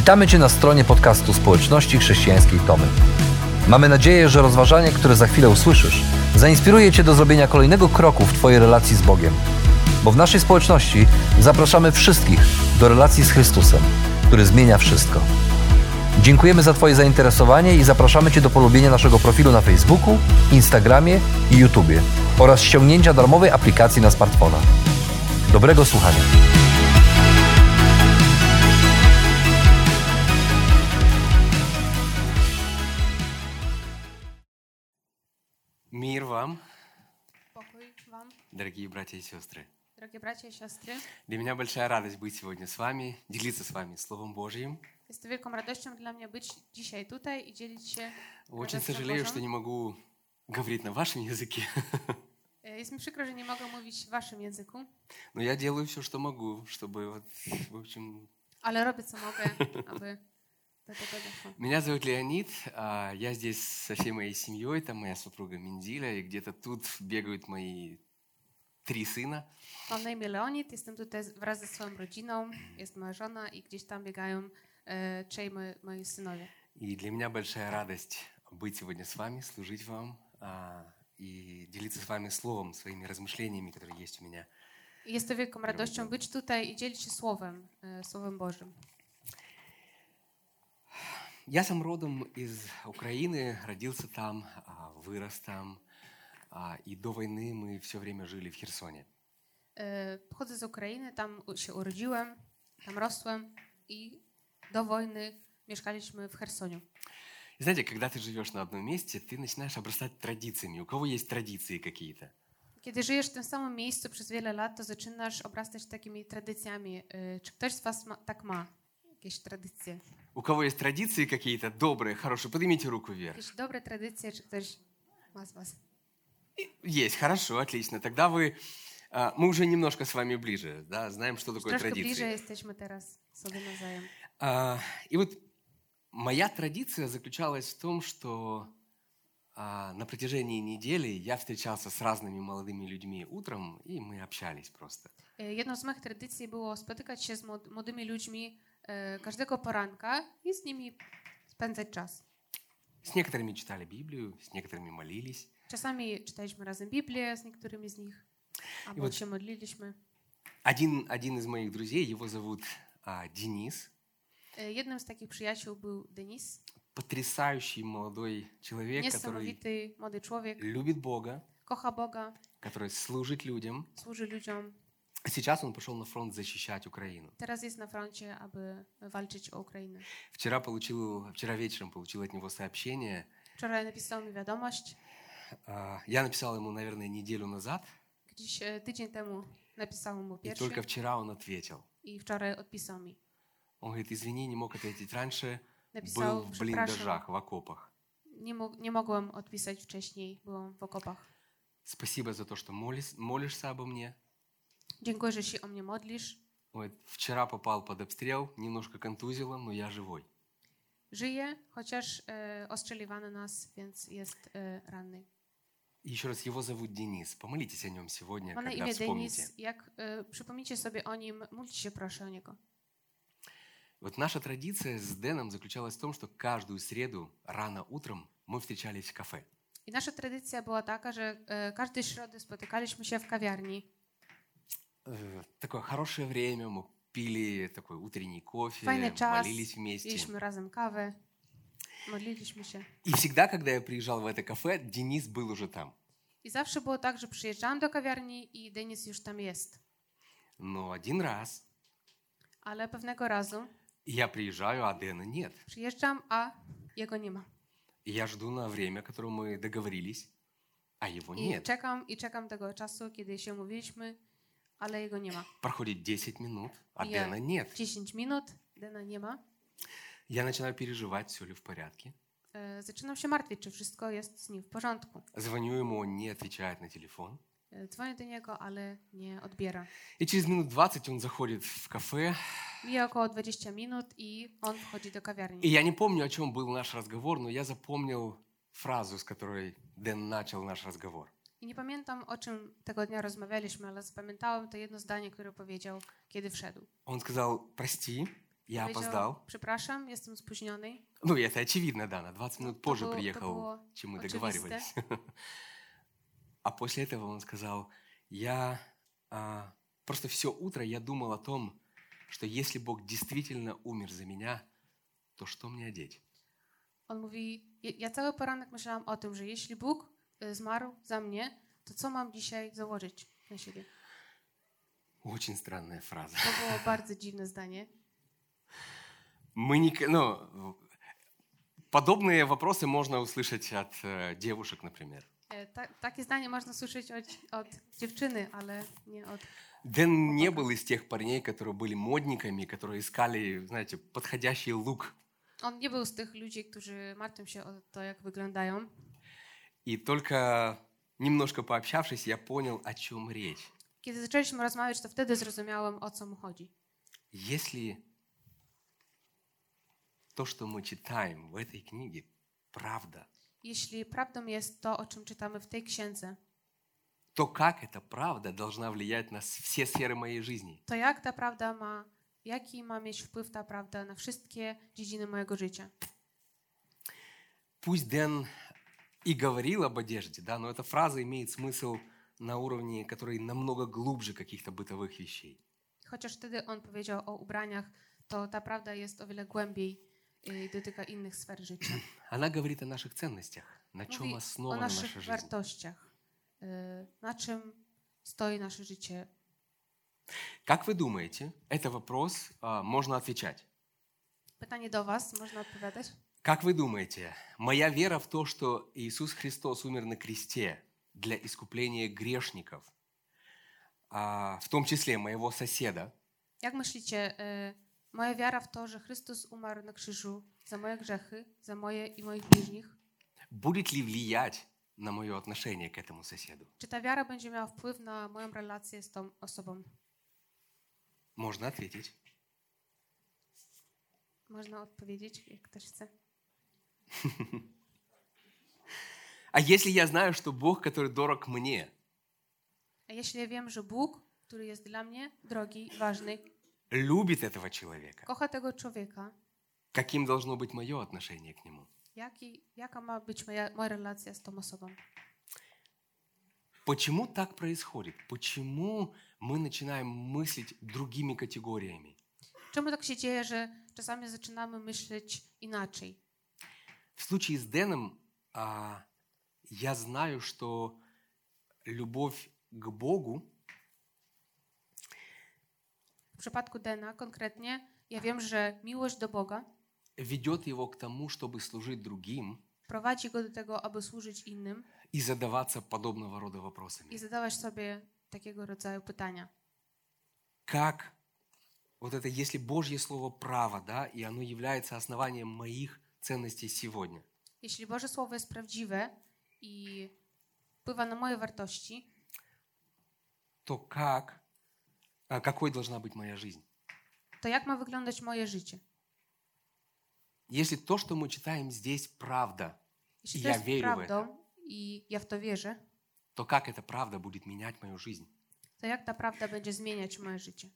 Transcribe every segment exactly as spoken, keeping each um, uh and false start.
Witamy Cię na stronie podcastu Społeczności Chrześcijańskiej Tomy. Mamy nadzieję, że rozważanie, które za chwilę usłyszysz, zainspiruje Cię do zrobienia kolejnego kroku w Twojej relacji z Bogiem. Bo w naszej społeczności zapraszamy wszystkich do relacji z Chrystusem, który zmienia wszystko. Dziękujemy za Twoje zainteresowanie i zapraszamy Cię do polubienia naszego profilu na Facebooku, Instagramie i YouTubie oraz ściągnięcia darmowej aplikacji na smartfona. Dobrego słuchania. Мир вам, Покой вам, дорогие братья и сестры. дорогие братья и сестры. Для меня большая радость быть сегодня с вами, делиться с вами Словом Божьим. Jest to wielką radością dla mnie być dzisiaj tutaj i dzielić się Очень radością сожалею, Bożą. что не могу говорить на вашем языке, Jest mi przykro, że nie mogę mówić w waszym języku, но я делаю все, что могу, чтобы, вот, в общем... ale robię co mogę, aby do tego doszło. Меня зовут Леонид, а, я здесь со всей моей семьей, там моя супруга Миндиля, и где-то тут бегают мои три сына. Mam na imię Leonid, jestem tutaj wraz ze swoją rodziną, jest moja żona i gdzieś tam biegają e, trzej moi, moi synowie. И для меня большая радость быть сегодня с вами, служить вам а, и делиться с вами словом, своими размышлениями, которые есть у меня. I jest to wielką radością być tutaj i dzielić się Słowem, e, Słowem Bożym. Я сам родом из Украины, родился там, а, вырос там, а, и до войны мы все время жили в Херсоне. E, Pochodzę z Ukrainy, tam u- się urodziłem, tam rosłem i do wojny mieszkaliśmy w Chersoniu. И знаете, когда ты живешь на одном месте, ты начинаешь обрастать традициями. У кого есть традиции какие-то? Kiedy żyjesz w tym samym miejscu przez wiele lat, to zaczynasz obrastać takimi tradycjami. E, Czy ktoś z was ma, tak ma? Jakieś tradycje? У кого есть традиции какие-то добрые, хорошие, поднимите руку вверх. Jakieś dobre tradycje, czy ktoś ma z was? Есть, хорошо, отлично. Тогда вы, а, мы уже немножко с вами ближе, да, знаем, что такое Troszkę bliżej традиции. jesteśmy teraz sobie nawzajem. А, И вот моя традиция заключалась в том, что а, на протяжении недели я встречался с разными молодыми людьми утром, и мы общались просто. E, Jedną z moich tradycji było spotykać się z młod- młodymi ludźmi e, każdego poranka i z nimi spędzać czas. С некоторыми читали Библию, с некоторыми молились. Czasami czytaliśmy razem Biblię z niektórymi z nich, albo вот- się modliliśmy. Один, один из моих друзей, его зовут а, Денис, E, Jednym z takich przyjaciół był Denis, потрясающий молодой человек, который niesamowity młody człowiek, любит Бога, kocha Boga, который служит людям. służy ludziom. Сейчас он пошел на фронт защищать Украину. Teraz jest na froncie, aby walczyć o Ukrainę. Вчера, получил, вчера вечером получил от него сообщение. Wczoraj napisał mi wiadomość. А, Я написал ему, наверное, неделю назад, Gdzieś e, tydzień temu napisałem mu и pierwszy только вчера он ответил. i wczoraj odpisał mi. Он говорит, извини, не мог ответить раньше, был Napisał, в przepraszam, блиндажах, в окопах. nie, mo- nie mogłem odpisać wcześniej, byłam w okopach. Спасибо за то, что молишь, молишься обо мне. Dziękuję, że się o mnie modlisz. Он говорит, вчера попал под обстрел, немножко контузило, но я живой. Żyje, chociaż e, ostrzeliwano nas, więc jest e, ranny. И еще раз, его зовут Денис. Помолитесь о нем сегодня, Ma na когда imię вспомните. Denis. Jak e, przypomnicie sobie o nim, módlcie się proszę o niego. Вот наша традиция с Дэном заключалась в том, что каждую среду рано утром мы встречались в кафе. I nasza tradycja była taka, że e, każdej środy spotykaliśmy się w kawiarni. Э, Такое хорошее время, мы пили такой утренний кофе, Fajny czas, молились вместе. piliśmy razem kawę, modliliśmy się. И всегда, когда я приезжал в это кафе, Денис был уже там. I zawsze było tak, że przyjeżdżałam do kawiarni i Denis już tam jest. Но один раз Ale pewnego razu я приезжаю, а Дэна нет. przyjeżdżam, a jego nie ma. И я жду на время, которое мы договорились, а его I нет. czekam i czekam tego czasu, kiedy się umówiliśmy, ale jego nie ma. Проходит десять минут, а Я- Дэна нет. dziesięć minut, Dena nie ma. Я начинаю переживать, все ли в порядке. E, Zaczynam się martwić, czy wszystko jest z nim w porządku. Звоню ему, он не отвечает на телефон. E, Dzwonię do niego, ale nie odbiera. И через минут двадцать он заходит в кафе. Mija około dwadzieścia minut i on wchodzi do И kawiarni. я не помню, о чем был наш разговор, но я запомнил фразу, с которой Дэн начал наш разговор. I nie pamiętam, o czym tego dnia rozmawialiśmy, ale zapamiętałem to jedno zdanie, które powiedział, kiedy wszedł. Он сказал, прости, Я Powiedział, опоздал. przepraszam, jestem spóźniony. Ну, это очевидно, да, на двадцать минут To позже było- to приехал, było чем мы oczywiste. договаривались. А после этого он сказал, я а, просто все утро я думал о том, что если Бог действительно умер за меня, то что мне одеть? On mówi, ja, ja cały poranek myślałam o tym, że jeśli Bóg y, zmarł za mnie, to co mam dzisiaj założyć na siebie? Очень странная фраза. To było bardzo dziwne zdanie. Мы не, ну, подобные вопросы можно услышать от э, девушек, например. E, ta, takie zdanie można słyszeć od, od dziewczyny, ale nie od... Дэн не был из тех парней, которые были модниками, которые искали, знаете, подходящий лук. On nie był z tych ludzi, którzy martwią się o to, jak wyglądają. И только немножко пообщавшись, я понял, о чем речь. Kiedy zaczęliśmy rozmawiać, to wtedy zrozumiałem, o co mu chodzi. Если то, что мы читаем в этой книге, правда, Jeśli prawdą jest to, o czym czytamy w tej księdze, то как эта правда должна влиять на с- все сферы моей жизни? to jak ta prawda ma, jaki ma mieć wpływ ta prawda na wszystkie dziedziny mojego życia? Пусть Дэн и говорил об одежде, да, но эта фраза имеет смысл на уровне, который намного глубже каких-то бытовых вещей. Chociaż wtedy on powiedział o ubraniach, to ta prawda jest o wiele głębiej i dotyka innych sfer życia. Она говорит о наших ценностях, на чем Mówi o основана naszych наша жизнь. wartościach, y, na czym stoi nasze życie. Как вы думаете, это вопрос а, можно отвечать? Pytanie do was, można odpowiadać? Как вы думаете, моя вера в то, что Иисус Христос умер на кресте для искупления грешников, а, в том числе моего соседа, Jak myślicie, y, moja wiara w to, że Chrystus umarł na krzyżu za moje grzechy, za moje i moich bliźnich, будет ли влиять на мое отношение к этому соседу? czy ta wiara będzie miała wpływ na moją relację z tą osobą? Можно ответить. Można odpowiedzieć, jak ktoś chce. А если я знаю, что Бог, который дорог мне, A jeśli ja wiem, że Bóg, który jest dla mnie drogi, ważny, любит этого человека, kocha tego człowieka, каким должно быть мое отношение к нему? jaki, jaka ma być moja, moja relacja z tą osobą? Почему так происходит? Почему мы начинаем мыслить другими категориями? Czemu tak się dzieje, że czasami zaczynamy myśleć inaczej? В случае с Дэном а, я знаю, что любовь к Богу W przypadku Dena konkretnie, ja wiem, że miłość do Boga ведет его к тому, чтобы служить другим prowadzi go do tego, aby służyć innym и задаваться подобного рода вопросами. i zadawać sobie takiego rodzaju pytania. Как вот это, если Божье Слово право, да, и оно является основанием моих ценностей сегодня, Jeśli Boże Słowo jest prawdziwe i wpływa na moje wartości, то как, а, какой должна быть моя жизнь? to jak ma wyglądać moje życie? Если то, что мы читаем здесь, правда, Jeśli i to ja jest wierzę w to, prawdą i ja w to wierzę, то как эта правда будет менять мою жизнь? to jak ta prawda będzie zmieniać moje życie?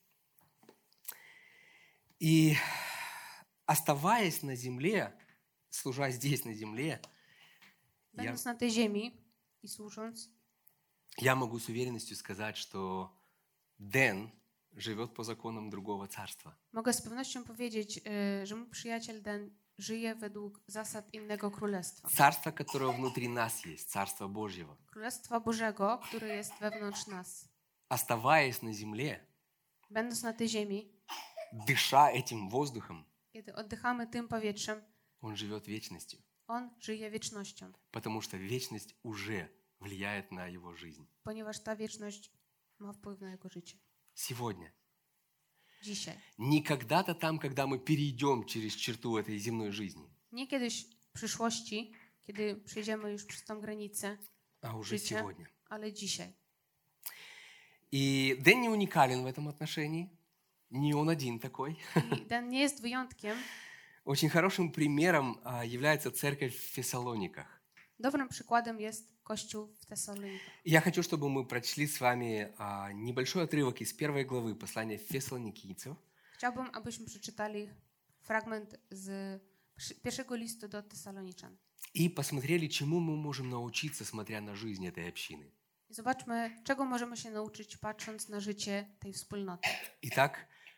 И оставаясь на земле, служа здесь на земле, я, Będąc na tej ziemi i służąc, я могу с уверенностью сказать, что Дэн живет по законам другого царства. mogę z pewnością powiedzieć, y, że mój przyjaciel Den żyje według zasad innego królestwa. Царство, которое внутри нас есть, Царство Божьего. Królestwa Bożego, które jest wewnątrz nas. Оставаясь на земле, Będąc na tej ziemi, дыша этим воздухом, kiedy oddychamy tym powietrzem, он живет вечностью, on żyje wiecznością, потому что вечность уже влияет на его жизнь. ponieważ ta wieczność ma wpływ na jego życie. Сегодня. Dzisiaj. Не когда-то там, когда мы перейдем через черту этой земной жизни, Nie kiedyś w przyszłości, kiedy przejdziemy już przez tą granicę, а уже życia, сегодня. ale dzisiaj. И Дэн не уникален в этом отношении. Не он один такой. I ten nie jest wyjątkiem. Очень хорошим примером а, является церковь в Фессалониках. Dobrym przykładem jest Kościół w Tesalonikach. И я хочу, чтобы мы прочли с вами а, небольшой отрывок из первой главы послания Фессалоникийцев. Chciałbym, abyśmy przeczytali fragment z przy- pierwszego listu do Tesaloniczan. И посмотрели, чему мы можем научиться, смотря на жизнь этой общины. I zobaczmy, czego możemy się nauczyć, patrząc na życie tej wspólnoty. Итак,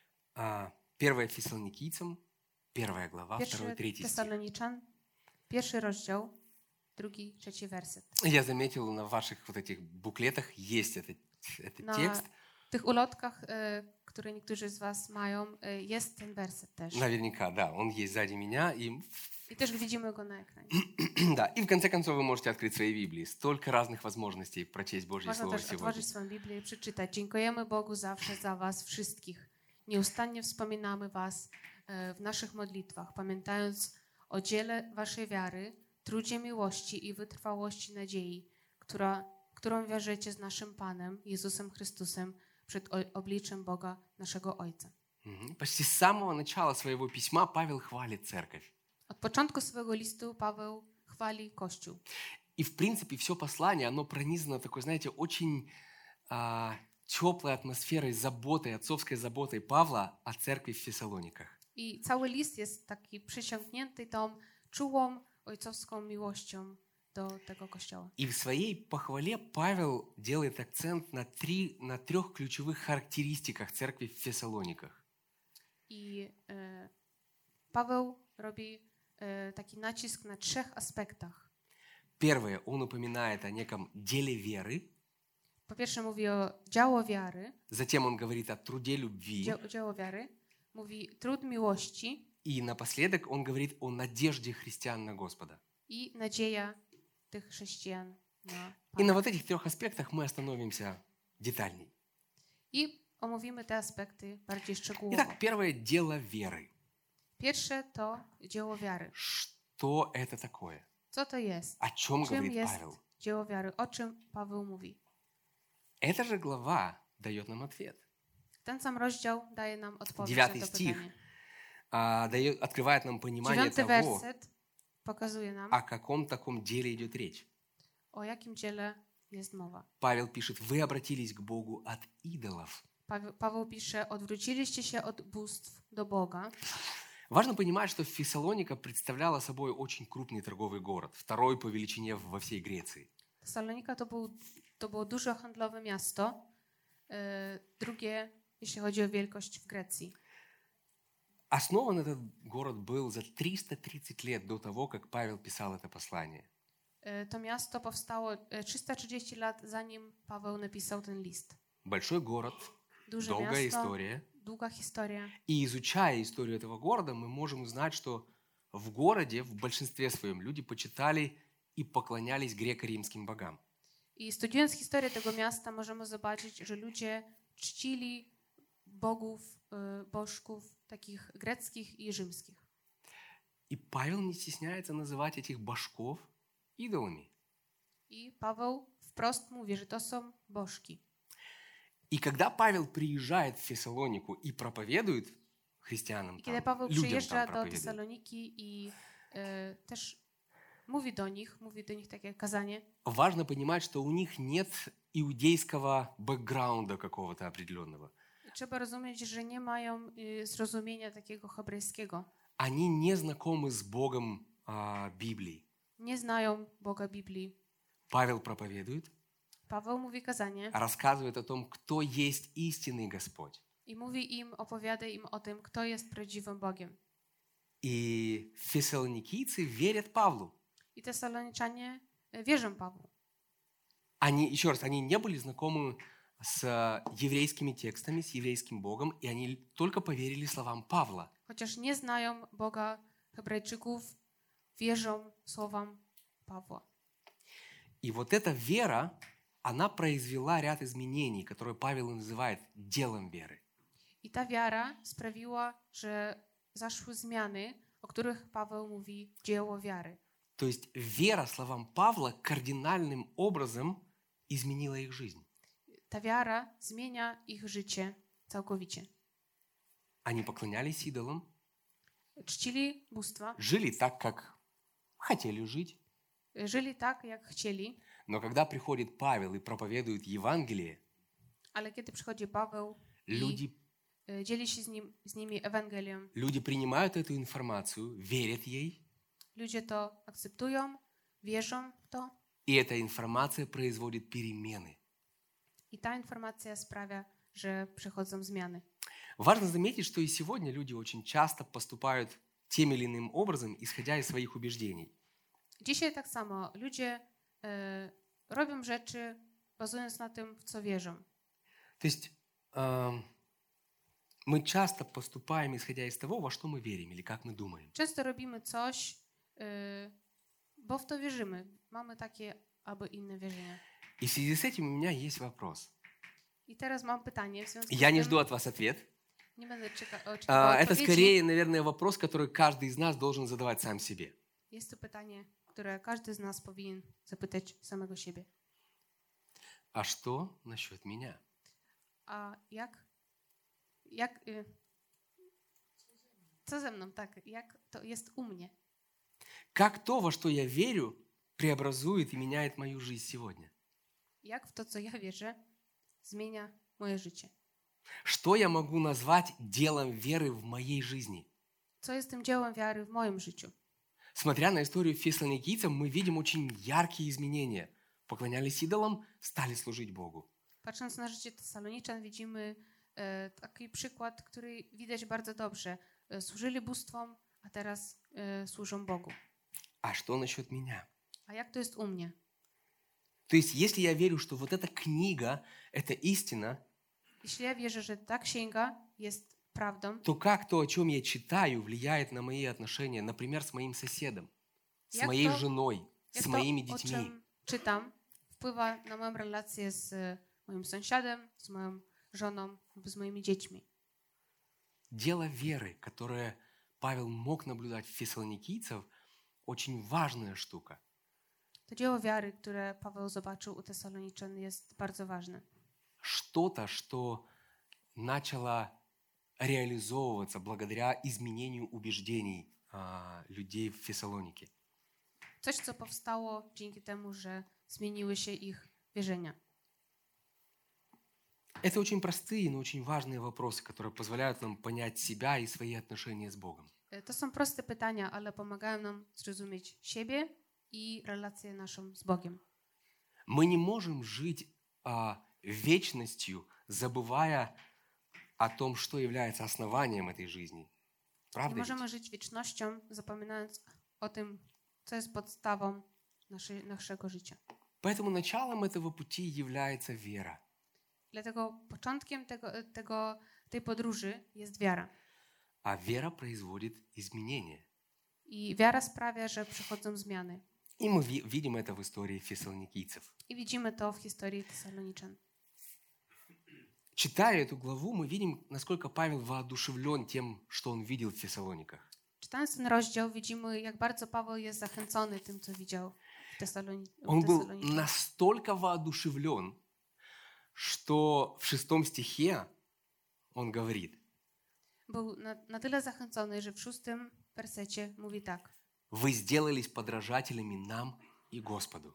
а, первое Фессалоникийцам, первая глава, второй, Pierwszy третий стих. Tesaloniczan, pierwszy rozdział, drugi, trzeci werset. Я заметил, на ваших вот этих буклетах есть этот, этот Na текст. tych ulotkach, e, które niektórzy z was mają, e, jest ten werset też. Наверняка, да, он есть сзади меня. И, I też widzimy go na ekranie. да, и в конце концов вы можете открыть свои Библии. Столько разных возможностей прочесть Божье Można Слово też сегодня. otworzyć swoją Biblię i przeczytać. Dziękujemy Bogu zawsze za was wszystkich. Nieustannie wspominamy was e, w naszych modlitwach, pamiętając o dziele waszej wiary, trudzie miłości i wytrwałości nadziei, która, którą wiążecie z naszym Panem, Jezusem Chrystusem, przed o- obliczem Boga, naszego Ojca. Мгм. Почти с самого начала своего письма Павел хвалит церковь. Od początku swego listu Paweł chwali Kościół. И, в принципе, все послание, оно пронизано такой, знаете, очень а, теплой атмосферой, заботой, отцовской заботой Павла о церкви в Фессалониках. I cały list jest taki przysiągnięty tą czułą ojcowską miłością do tego Kościoła. И в своей похвале Павел делает акцент на, три, на трех ключевых характеристиках церкви в Фессалониках. I e, Paweł robi e, taki nacisk na trzech aspektach. Первое, он упоминает о неком деле веры. Po pierwsze mówi o dzieło wiary, Затем он говорит о труде любви. dzieło, dzieło wiary, mówi trud miłości И напоследок он говорит о надежде христиан на Господа. i nadzieja tych chrześcijan na И на Pana. вот этих трех аспектах мы остановимся детальней. I omówimy te aspekty bardziej szczegółowo. Итак, первое – дело веры. Pierwsze to dzieło wiary. Что это такое? Co to jest? О чем Czym говорит jest Павел? dzieło wiary? O czym Paweł mówi? Эта же глава дает нам ответ. Ten sam rozdział daje nam odpowiedź na Девятый to стих pytanie. а, дает, открывает нам понимание Dziewiąty того, werset pokazuje nam, о каком таком деле идет речь. o jakim dziele jest mowa. Павел пишет, вы обратились к Богу от идолов. Paweł, Paweł pisze, odwróciliście się od bóstw do Boga. Важно понимать, что Фессалоника представляла собой очень крупный торговый город, второй по величине во всей Греции. Tesalonika to, był, to było duże handlowe miasto, e, drugie, jeśli chodzi o wielkość w Grecji. Основан этот город был за триста тридцать лет до того, как Павел писал это послание. E, to miasto powstało e, trzysta trzydzieści lat, zanim Paweł napisał ten list. Большой город, Duże долгая miasto, история. długa historia. И изучая историю этого города, мы можем узнать, что в городе, в большинстве своем, люди почитали и поклонялись греко-римским богам. I studiując historię tego miasta, możemy zobaczyć, że ludzie czcili bogów, e, bożków takich greckich i rzymskich. И Павел не стесняется называть этих божков идолами. I Paweł wprost mówi, że to są bożki. И когда Павел приезжает в Фессалонику и проповедует христианам, I kiedy там, Paweł людям przyjeżdża там do проповедует, Tesaloniki i e, też mówi do nich, mówi do nich takie kazanie, важно понимать, что у них нет иудейского бэкграунда какого-то определенного. trzeba rozumieć, że nie mają e, zrozumienia takiego hebrajskiego. Они не знакомы с Богом а, Библии. Nie znają Boga Biblii. Павел проповедует, Paweł mówi kazanie рассказывает о том, кто есть истинный Господь. i mówi im, opowiada im o tym, kto jest prawdziwym Bogiem. И фессалоникийцы верят Павлу. I Tesaloniczanie e, wierzą Pawłu. Они, еще раз, они не были знакомы с еврейскими текстами, с еврейским Богом, и они только поверили словам Павла. Chociaż nie znają Boga Hebrajczyków, wierzą słowom Pawła. И вот эта вера, она произвела ряд изменений, которые Павел называет делом веры. I ta wiara sprawiła, że zaszły zmiany, o których Paweł mówi dzieło wiary. То есть вера словам Павла кардинальным образом изменила их жизнь. Ta wiara zmienia ich życie całkowicie. Они поклонялись идолам, Czcili bóstwa, жили так, как хотели жить. żyli tak, jak chcieli, Но когда приходит Павел и проповедует Евангелие, ale kiedy przychodzi Paweł i люди e, dzieli się z, nim, z nimi Ewangelią. Люди принимают эту информацию, верят ей, Ludzie to akceptują, wierzą w to и эта информация производит перемены. i ta informacja sprawia, że przychodzą zmiany. Важно заметить, что и сегодня люди очень часто поступают тем или иным образом, исходя из своих убеждений. Dzisiaj tak samo ludzie e, robią rzeczy bazując na tym, w co wierzą. То есть эм, мы часто поступаем, исходя из того, во что мы верим или как мы думаем. Często robimy coś, e, bo w to wierzymy. Mamy takie albo inne wierzenia. И в связи с этим у меня есть вопрос. I teraz mam pytanie w związku Я z не tym. жду от вас ответ. Nie będę czeka- А, oczekiwała Это odpowiedzi. скорее, наверное, вопрос, который каждый из нас должен задавать сам себе. Jest to pytanie, które każdy z nas powinien zapytać samego siebie. А что насчет меня? A jak, jak, y, co ze mną, tak, jak to jest u mnie? Как то, во что я верю, преобразует и меняет мою жизнь сегодня? Jak w to, co ja wierzę, zmienia moje życie? Что я могу назвать делом веры в моей жизни? Co jest tym dziełem wiary w moim życiu? Смотря на историю фессалоникийцев, мы видим очень яркие изменения. Поклонялись идолам, стали служить Богу. Patrząc na życie Tesaloniczan, widzimy e, taki przykład, który widać bardzo dobrze. E, służyli bóstwom, a teraz e, służą Bogu. А что насчет меня? A jak to jest u mnie? То есть, если я верю, что вот эта книга – это истина, Jeśli ja wierzę, że ta księga jest prawdą, то как то, о чем я читаю, влияет на мои отношения, например, с моим соседом, с Jak моей to- женой, jak с to, моими o детьми? czym czytam, wpływa na moją relację z e, moim sąsiadem, z moją żoną lub z moimi dziećmi. Дело веры, которое Павел мог наблюдать в фессалоникийцев, очень важная штука. To dzieło wiary, które Paweł zobaczył u Tesaloniczan, jest bardzo ważne. Что-то, что начало реализовываться благодаря изменению убеждений а, людей в Фессалонике. Coś, co powstało dzięki temu, że zmieniły się ich wierzenia. Это очень простые, но очень важные вопросы, которые позволяют нам понять себя и свои отношения с Богом. E, To są proste pytania, ale pomagają nam zrozumieć siebie i relację naszą z Bogiem. Мы не можем жить а, вечностью, забывая о том, что является основанием этой жизни. Nie Правда? ведь? możemy żyć wiecznością, zapominając o tym, co jest podstawą naszej, naszego życia. Поэтому началом этого пути является вера. Dlatego początkiem tego, tego, tej podróży jest wiara. А вера производит изменения. I wiara sprawia, że przychodzą zmiany. И мы ви- видим это в истории фессалоникийцев. I widzimy to w historii Tesaloniczan. Читая эту главу, мы видим, насколько Павел воодушевлен тем, что он видел в Фессалониках. Czytając ten rozdział, widzimy, jak bardzo Paweł jest zachęcony tym, co widział w, Tesaloni- w Он был Tesaloniczach. настолько воодушевлен, что в шестом стихе он говорит: Był na, na tyle zachęcony, że w szóstym wersecie mówi tak. «Вы сделались подражателями нам и Господу».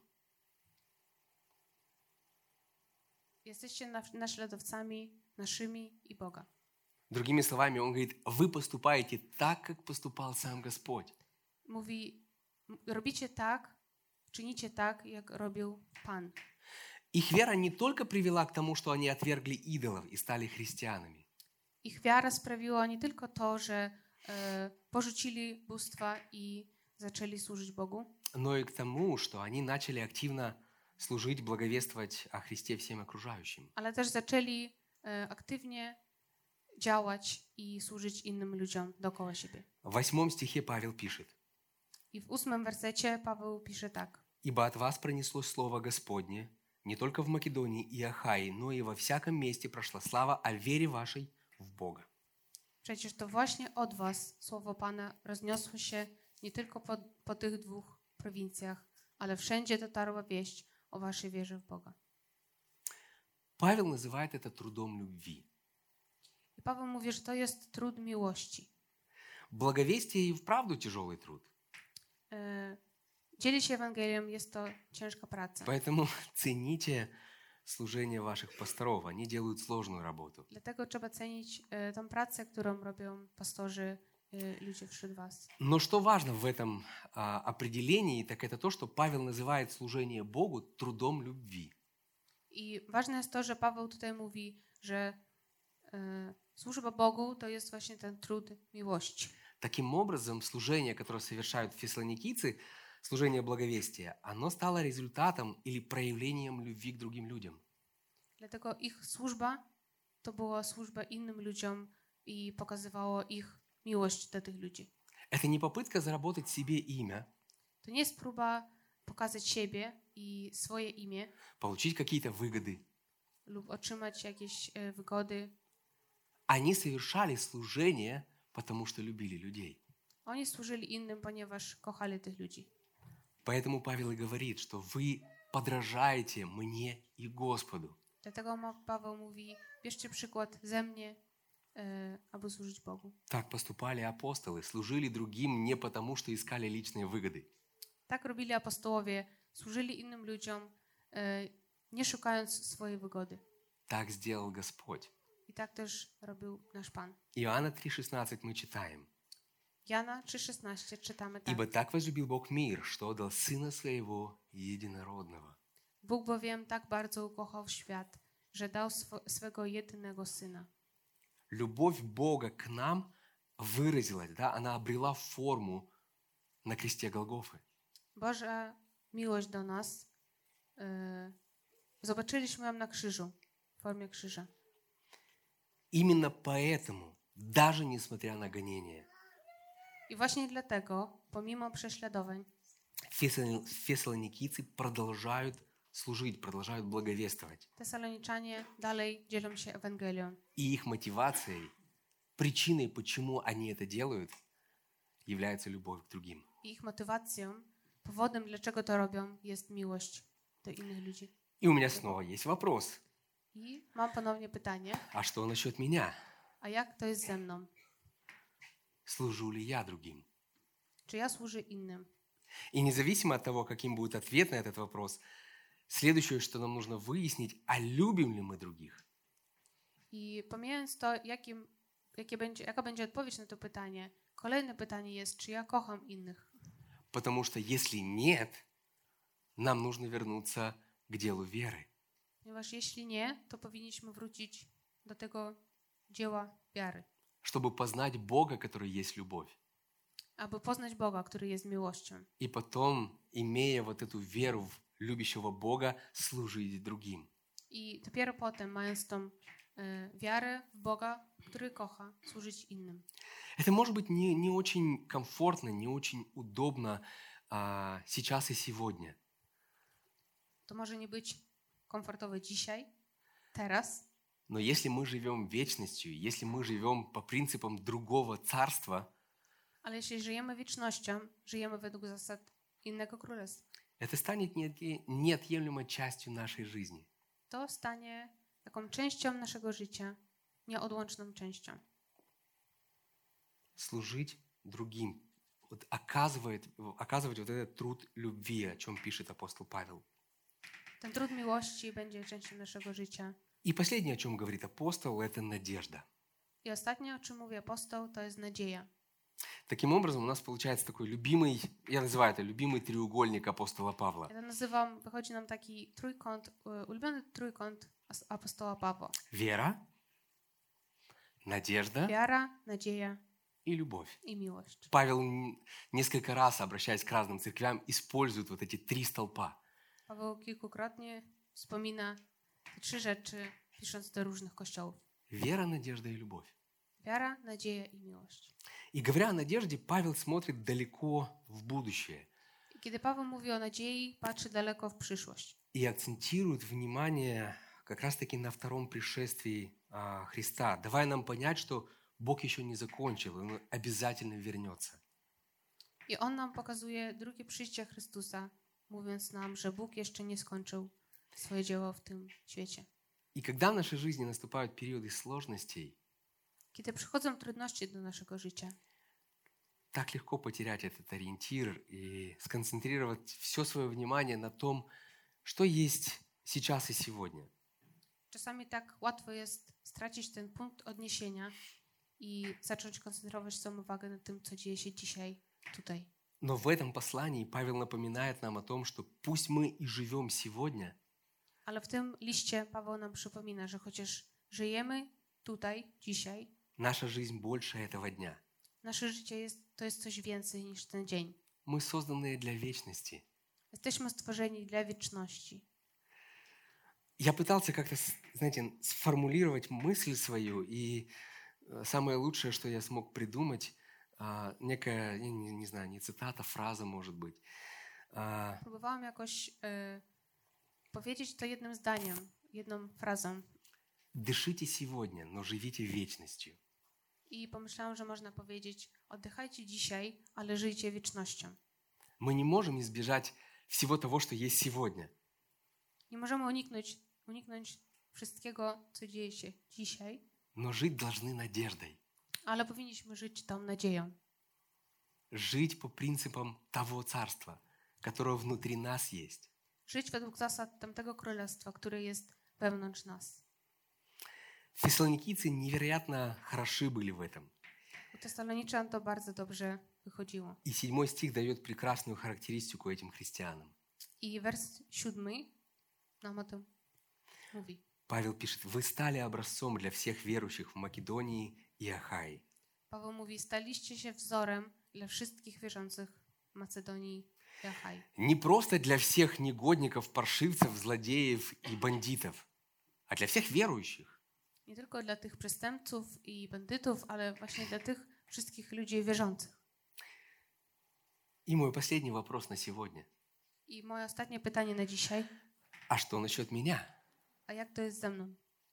Jesteście na- naśladowcami naszymi i Boga. Другими словами, он говорит: вы поступаете так, как поступал сам Господь. Mówi, m- robicie tak, czynicie tak, jak robił Pan. Их вера не только привела к тому, что они отвергли идолов и стали христианами, Ich wiara sprawiła nie tylko to, że e, porzucili bóstwa i zaczęli służyć Bogu, но и к тому, что они начали активно служить, благовествовать о Христе всем окружающим. ale też zaczęli e, aktywnie działać i służyć innym ludziom dookoła siebie. В восьмом стихе Павел пишет: I w ósmym wersecie Paweł pisze tak. «Ибо от вас пронеслось слово Господне, не только в Македонии и Ахаи, но и во всяком месте прошла слава о вере вашей в Бога». Przecież to właśnie od was słowo Pana rozniosło się nie tylko po, po tych dwóch prowincjach, ale wszędzie dotarła wieść o waszej wierze w Boga. Павел называет это трудом любви. I Paweł mówi, że to jest trud miłości. Благовестие и вправду тяжелый труд. E, dzielić się Ewangelią jest to ciężka praca. Поэтому цените служение ваших пасторов. Они делают сложную работу. Dlatego trzeba cenić e, tą pracę, którą robią pastorzy, e, ludzie wśród was. Но что важно в этом а, определении, так это то, что Павел называет служение Богу трудом любви. I ważne jest to, że Paweł tutaj mówi, że e, służba Bogu to jest właśnie ten trud miłości. Таким образом, служение, которое совершают фессалоникийцы, служение благовестия, оно стало результатом или проявлением любви к другим людям. Dlatego ich służba to była służba innym ludziom i pokazywało ich miłość do tych ludzi. Это не попытка заработать себе имя, To nie jest próba pokazać siebie i swoje imię получить какие-то выгоды. lub otrzymać jakieś e, wygody. Они совершали служение, потому что любили людей. Oni służyli innym, ponieważ kochali tych ludzi. Поэтому Павел и говорит, что вы подражаете мне и Господу. Dlatego ma- Paweł mówi, bierzcie przykład ze mnie, e, aby służyć Bogu. Так поступали апостолы, служили другим не потому, что искали личные выгоды. Tak robili apostołowie, służyli innym ludziom, e, nie szukając swojej wygody. Так сделал Господь. I tak też robił nasz Pan. Иоанна три шестнадцать мы читаем. Jana trzy szesnaście czytamy tak. «Ибо так возлюбил Бог мир, что отдал Сына Своего Единородного». Bóg bowiem tak bardzo ukochał świat, że dał swo- swego jedynego Syna. Любовь Бога к нам выразилась, да, она обрела форму на кресте Голгофы. Boża miłość do nas e, zobaczyliśmy ją na krzyżu, w formie krzyża. Именно поэтому, даже несмотря на гонения, I właśnie dlatego, pomimo prześladowań, фессал- фессалоникийцы продолжают служить, продолжают благовествовать. Tesaloniczanie dalej dzielą się Ewangelią. И их мотивацией, причиной, почему они это делают, является любовь к другим. I ich motywacją, powodem, dlaczego to robią, jest miłość do innych ludzi. И у меня снова есть вопрос. I mam ponownie pytanie, А что насчет меня? a jak to jest ze mną? Служу ли я другим? Czy ja służę innym? И независимо от того, каким будет ответ на этот вопрос, следующее, что нам нужно выяснить, а любим ли мы других? I pomijając to, jakim, jakie będzie, jaka będzie odpowiedź na to pytanie, kolejne pytanie jest, czy ja kocham innych? Потому что если нет, нам нужно вернуться к делу веры. Ponieważ jeśli nie, to powinniśmy wrócić do tego dzieła wiary, Чтобы познать Бога, который есть любовь. aby poznać Boga, który jest miłością. И потом, имея вот эту веру в любящего Бога, служить другим. I dopiero potem, mając tą e, wiarę w Boga, który kocha, służyć innym. Это может быть не, не очень комфортно, не очень удобно а, сейчас и сегодня. To może nie być komfortowe dzisiaj, teraz, Но если мы живем вечностью, если мы живем по принципам другого царства, ale jeśli żyjemy wiecznością, żyjemy według zasad innego królestwa, это станет неотъе- неотъемлемой частью нашей жизни. to stanie taką częścią naszego życia, nieodłączną częścią. Служить другим, вот оказывает, оказывать вот этот труд любви, о чем пишет апостол Павел. Ten trud miłości będzie częścią naszego życia. И последнее, о чем говорит апостол, это надежда. I ostatnie, o czym mówi apostoł, to jest nadzieja. Таким образом, у нас получается такой любимый, я называю это любимый треугольник апостола Павла. Ja to nazywam, wychodzi nam taki trójkąt, e, ulubiony trójkąt as- apostoła Pawła. Вера, надежда Wiara, nadzieja и любовь. i miłość. Павел н- несколько раз, обращаясь к разным церквям, использует вот эти три столпа. Paweł kilkukrotnie wspomina te trzy rzeczy, pisząc do różnych kościołów. Вера, надежда и любовь. Wiara, nadzieja i miłość. И говоря о надежде, Павел смотрит далеко в будущее I kiedy Paweł mówi o nadziei, patrzy daleko w przyszłość. и акцентирует внимание как раз-таки на втором пришествии а, Христа, давая нам понять, что Бог еще не закончил, Он обязательно вернется. I on nam pokazuje drugie przyjście Chrystusa, mówiąc nam, że Bóg jeszcze nie skończył swoje dzieło w tym świecie. И когда в нашей жизни наступают периоды сложностей, Kiedy przychodzą trudności do naszego życia, так легко потерять этот ориентир и сконцентрировать все свое внимание на том, что есть сейчас и сегодня. czasami tak łatwo jest stracić ten punkt odniesienia i zacząć koncentrować swoją uwagę na tym, co dzieje się dzisiaj, tutaj. Но в этом послании Павел напоминает нам о том, что пусть мы и живем сегодня, Ale w tym liście Paweł nam przypomina, że chociaż żyjemy tutaj, dzisiaj, наша жизнь больше этого дня. nasze życie jest, to jest coś więcej niż ten dzień. Мы созданы для вечности. Jesteśmy stworzeni dla wieczności. Я пытался как-то, знаете, сформулировать мысль свою, и самое лучшее, что я смог придумать, некая, не, не знаю, не цитата, фраза, может быть. Próbowałam jakoś e, powiedzieć to jednym zdaniem, jedną frazą. Дышите сегодня, но живите вечностью. I pomyślałam, że można powiedzieć: oddychajcie dzisiaj, ale żyjcie wiecznością. Мы не можем избежать всего того, что есть сегодня. Nie możemy uniknąć, uniknąć wszystkiego, co dzieje się dzisiaj, Но жить должны надеждой. ale powinniśmy żyć tą nadzieją. Жить по принципам того царства, которое внутри нас есть. Żyć według zasad tamtego królestwa, które jest wewnątrz nas. Фессалоникийцы невероятно хороши были в этом. U Tesaloniczan to bardzo dobrze wychodziło. И седьмой стих дает прекрасную характеристику этим христианам. I wers siódmy nam o tym mówi. Павел пишет: «Вы стали образцом для всех верующих в Македонии и Ахае». Paweł mówi: staliście się wzorem dla wszystkich wierzących w Macedonii i Achai. Не просто для всех негодников, паршивцев, злодеев и бандитов, а для всех верующих. Nie tylko dla tych przestępców i bandytów, ale właśnie dla tych wszystkich ludzi wierzących. И мой последний вопрос на сегодня. I moje ostatnie pytanie na dzisiaj. А что насчет меня? A jak to jest ze mną?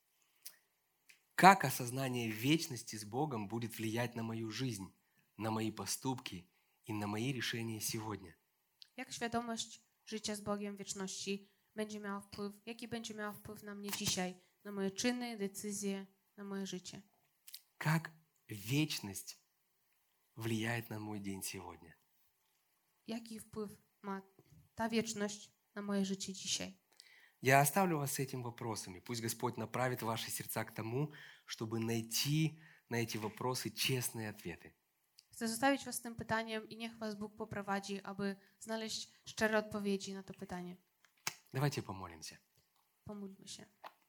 Как осознание вечности с Богом будет влиять на мою жизнь, на мои поступки и на мои решения сегодня? Jak świadomość życia z Bogiem w wieczności będzie miała wpływ, jaki będzie miała wpływ na mnie dzisiaj, na moje czyny, decyzje, na moje życie? Как вечность влияет на мой день сегодня? Jaki wpływ ma ta wieczność na moje życie dzisiaj? Я оставлю вас с этим вопросом, и пусть Господь направит ваши сердца к тому, чтобы найти на эти вопросы честные ответы. Chcę zostawić was z tym pytaniem i niech was Bóg poprowadzi, aby znaleźć szczere odpowiedzi na to pytanie. Давайте помолимся. Pomódlmy się.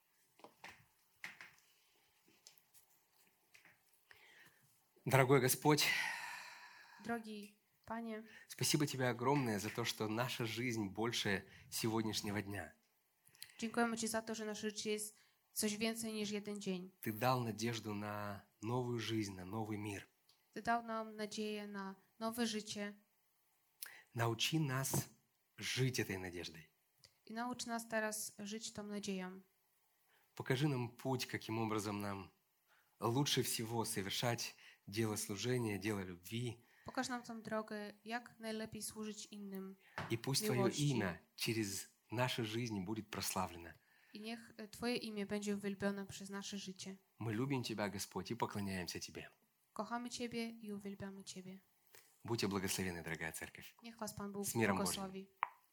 Дорогой Господь, Drogi Panie, спасибо Тебе огромное за то, что наша жизнь больше сегодняшнего дня. dziękujemy Ci za to, że nasze życie jest coś więcej niż jeden dzień. Ты дал надежду на новую жизнь, на новый мир. Ty dał nam nadzieję na nowe życie Научи нас жить этой надеждой. i naucz nas teraz żyć tą nadzieją. Покажи нам путь, каким образом нам лучше всего совершать дело служения, дело любви. Pokaż nam tą drogę, jak najlepiej służyć innym. И пусть Твое имя через наши жизни будет прославлено. I niech Twoje imię będzie uwielbione przez nasze życie. Мы любим Тебя, Господь, и поклоняемся Тебе. Kochamy Ciebie i uwielbiamy Ciebie. Будьте благословены, дорогая церковь. Niech Was Pan Bóg Z mirem błogosławi.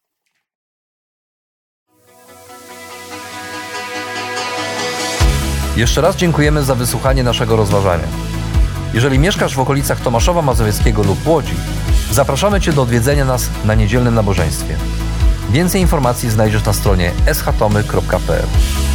Jeszcze raz dziękujemy za wysłuchanie naszego rozważania. Jeżeli mieszkasz w okolicach Tomaszowa Mazowieckiego lub Łodzi, zapraszamy Cię do odwiedzenia nas na niedzielnym nabożeństwie. Więcej informacji znajdziesz na stronie s h tomy kropka p l.